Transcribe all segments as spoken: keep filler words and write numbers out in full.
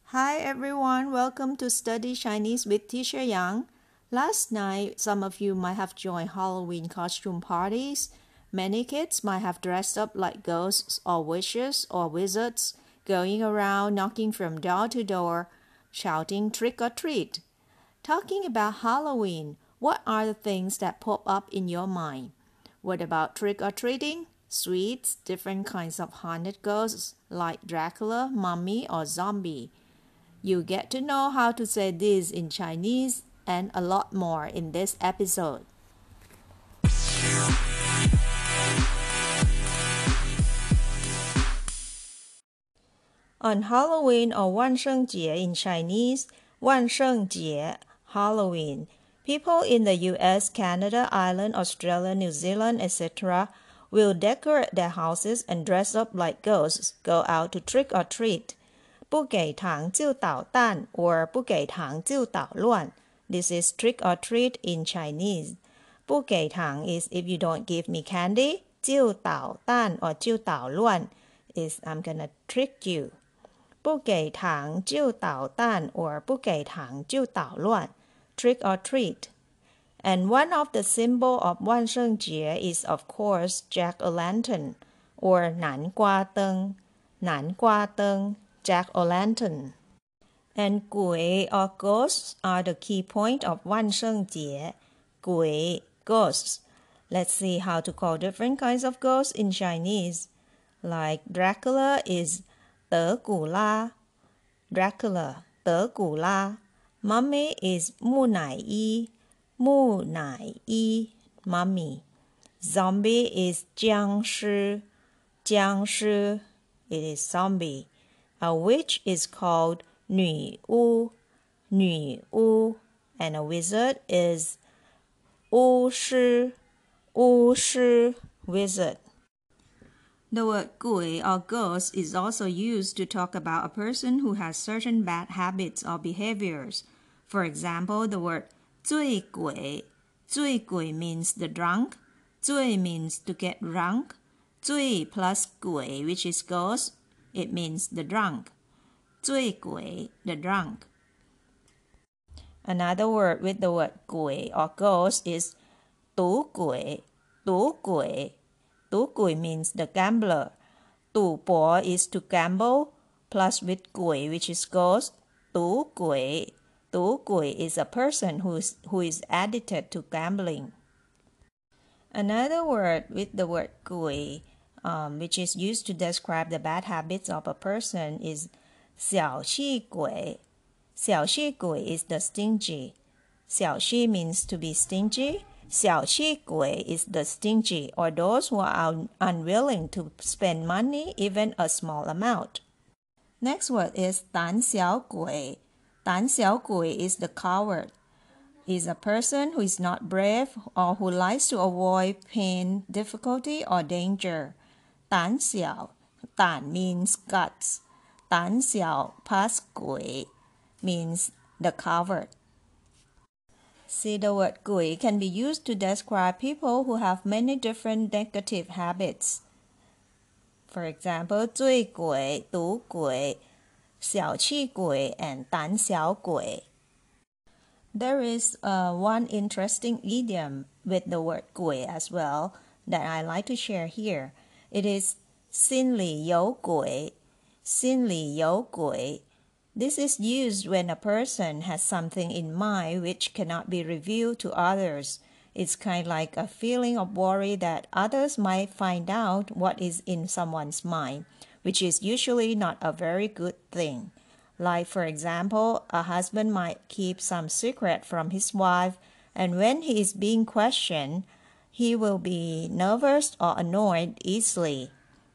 Hi everyone, welcome to Study Chinese with Teacher Yang. Last night, some of you might have joined Halloween costume parties. Many kids might have dressed up like ghosts or witches or wizards, going around knocking from door to door, shouting trick or treat. Talking about Halloween, what are the things that pop up in your mind? What about trick or treating? Sweets, different kinds of haunted ghosts like Dracula, mummy, or zombie. You get to know how to say this in Chinese and a lot more in this episode. On Halloween or 万圣节 in Chinese, 万圣节, Halloween, people in the U S, Canada, Ireland, Australia, New Zealand, et cetera will decorate their houses and dress up like ghosts, go out to trick or treat. 不给糖就捣蛋 or 不给糖就捣乱. This is trick or treat in Chinese. 不给糖 is if you don't give me candy. 就捣蛋 or 就捣乱 is I'm gonna trick you. 不给糖就捣蛋 or 不给糖就捣乱 trick or treat. And one of the symbol of 万圣节 is of course jack-o'-lantern or 南瓜灯南瓜灯Jack-o'-lantern. And 鬼 or ghosts are the key point of 万圣节. 鬼 ghosts. Let's see how to call different kinds of ghosts in Chinese. Like Dracula is 德古拉 Dracula 德古拉 Mummy is 木乃伊木乃伊 Mummy. Zombie is 僵尸僵尸 It is zombie. A witch is called 女巫女巫 and a wizard is 巫师巫师 wizard. The word 鬼 or ghost is also used to talk about a person who has certain bad habits or behaviors. For example, the word 醉鬼醉鬼 means the drunk. 醉 means to get drunk. 醉 plus 鬼 which is ghost, it means the drunk. 醉鬼 the drunk. Another word with the word 鬼 or ghost is 赌鬼赌鬼赌鬼 means the gambler. 赌博 is to gamble plus with 鬼 which is ghost. 赌鬼赌鬼 is a person who is, who is addicted to gambling. Another word with the word 鬼 um, which is used to describe the bad habits of a person is 小气鬼小气鬼 is the stingy. 小气 means to be stingy. 小气鬼 is the stingy or those who are un- unwilling to spend money, even a small amount. Next word is 胆小鬼胆小鬼 is the coward. Is a person who is not brave or who likes to avoid pain, difficulty, or danger. 胆小胆 means guts. 胆小 plus 鬼 means the coward. See, the word 鬼 can be used to describe people who have many different negative habits. For example, 醉鬼赌鬼小气鬼 and 胆小鬼. There is uh, one interesting idiom with the word 鬼 as well that I like to share here. It is 心里有鬼心里有鬼 This is used when a person has something in mind which cannot be revealed to others. It's kind of like a feeling of worry that others might find out what is in someone's mind, which is usually not a very good thing. Like, for example, a husband might keep some secret from his wife, and when he is being questioned, he will be nervous or annoyed easily.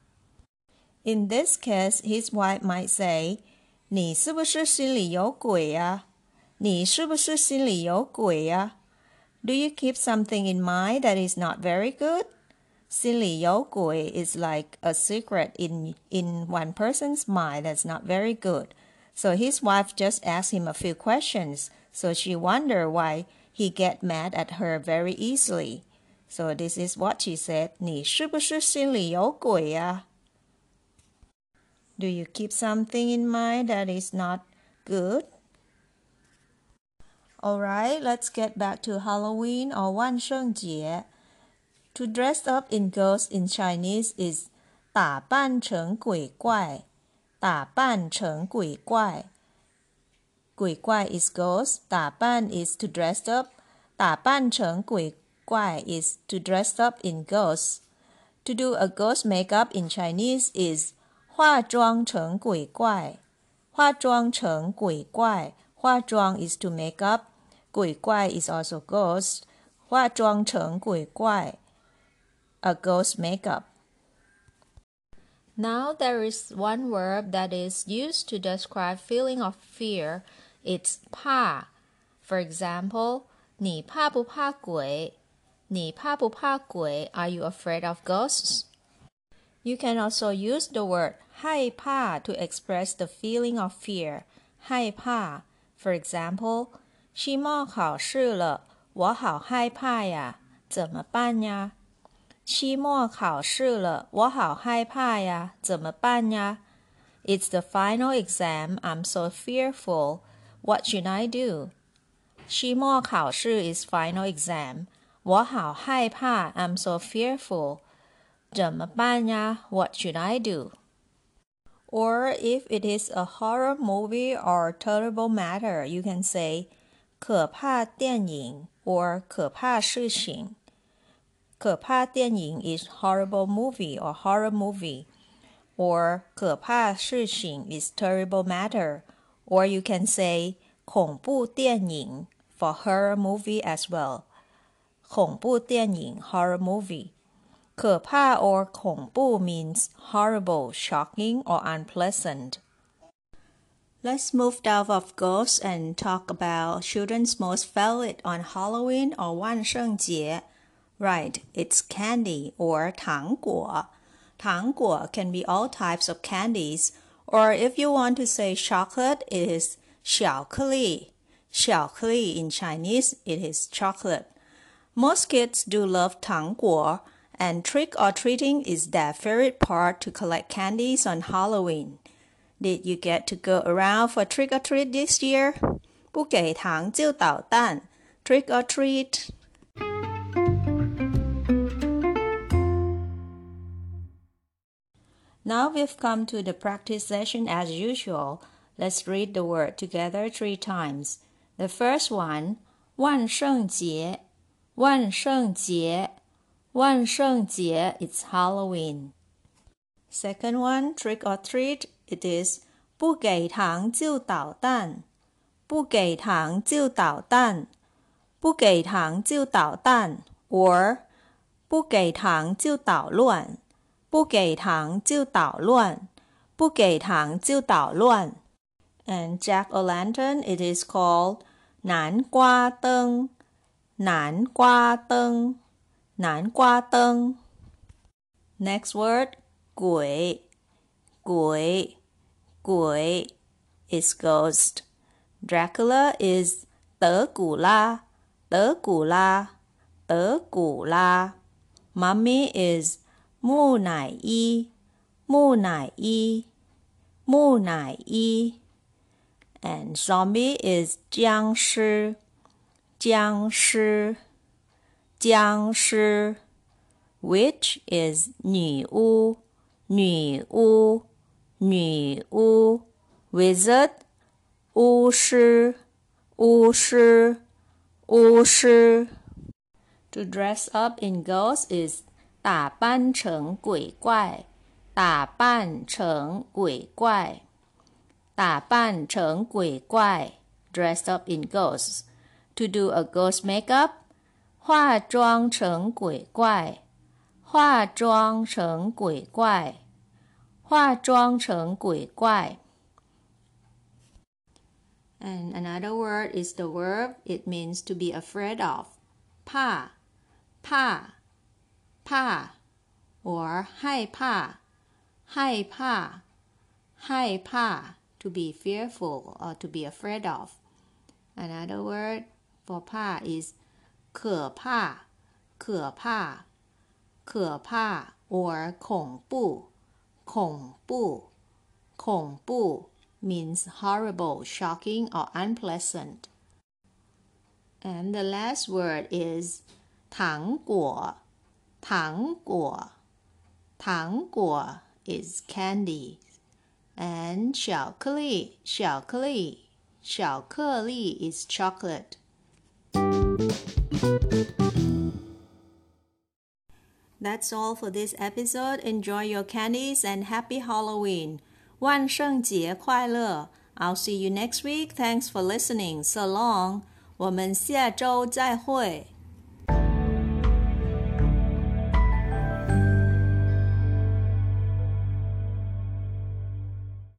In this case, his wife might say, 你是不是心里有鬼呀？你是不是心里有鬼呀？ Do you keep something in mind that is not very good? 心里有鬼 is like a secret in, in one person's mind that's not very good. So his wife just asked him a few questions, so she wondered why he get mad at her very easily. So this is what she said, 你是不是心里有鬼呀？ Do you keep something in mind that is not Good. Alright, let's get back to Halloween or 万圣节. To dress up in ghosts in Chinese is 打扮成鬼怪,打扮成鬼怪. 鬼怪 is ghost, 打扮 is to dress up, 打扮成鬼怪 is to dress up in ghosts. To do a ghost makeup in Chinese is 化妆成鬼怪,化妆成鬼怪. 化妆 is to make up, 鬼怪 is also ghost, 化妆成鬼怪, a ghost makeup. Now there is one verb that is used to describe feeling of fear. It's 怕. For example, 你怕不怕鬼?你怕不怕鬼? Are you afraid of ghosts? You can also use the word 害怕 to express the feeling of fear. 害怕. For example, 期末考试了,我好害怕呀,怎么办呀?期末考试了,我好害怕呀,怎么办呀? It's the final exam. I'm so fearful. What should I do? 期末考试 is final exam. 我好害怕 I'm so fearful. 怎么办呀? What should I do? Or if it is a horror movie or terrible matter, you can say 可怕电影 or 可怕事情. 可怕电影 is horrible movie or horror movie. Or 可怕事情 is terrible matter. Or you can say 恐怖电影 for horror movie as well. 恐怖电影 horror movie. 可怕 or 恐怖 means horrible, shocking, or unpleasant. Let's move out of ghosts and talk about children's most favorite on Halloween or 万圣节. Right, it's candy or 糖果. 糖果 can be all types of candies, or if you want to say chocolate, it is 巧克力. 巧克力 in Chinese, it is chocolate. Most kids do love 糖果, and trick-or-treating is their favorite part to collect candies on Halloween. Did you get to go around for trick-or-treat this year? 不给糖就捣蛋. Trick-or-treat. Now we've come to the practice session as usual. Let's read the word together three times. The first one, 万圣节,万圣节,万圣节, it's Halloween. Second one, trick or treat, it is 不给糖就捣蛋,不给糖就捣蛋,不给糖就捣蛋, or 不给糖就捣乱,不给糖就捣乱,不给糖就捣乱. And jack-o'-lantern, it is called 南瓜灯,南瓜灯,南瓜灯. Next word, 鬼,鬼,鬼 is ghost. Dracula is 德古拉,德古拉,德古拉. Mummy is 木乃伊,木乃伊,木乃伊. And zombie is 僵尸,僵尸,僵尸. Witch is 女巫,女巫,女巫. Wizard, 巫师,巫师,巫师. To dress up in ghosts is 打扮成鬼怪,打扮成鬼怪,打扮成鬼怪, dressed up in ghosts. To do a ghost makeup, 化妆成鬼怪,化妆成鬼怪,化妆成鬼怪. And another word is the verb. It means to be afraid of. 怕,怕,怕, or 害怕,害怕,害怕, to be fearful or to be afraid of. Another word for 怕 is 可怕,可怕,可怕, or 恐怖,恐怖,恐怖, means horrible, shocking, or unpleasant. And the last word is 糖果糖果糖果 is candy. And 巧克力巧克力巧克力 is chocolate. That's all for this episode. Enjoy your candies and happy Halloween. 万圣节快乐 I'll see you next week. Thanks for listening. So long. 我们下周再会。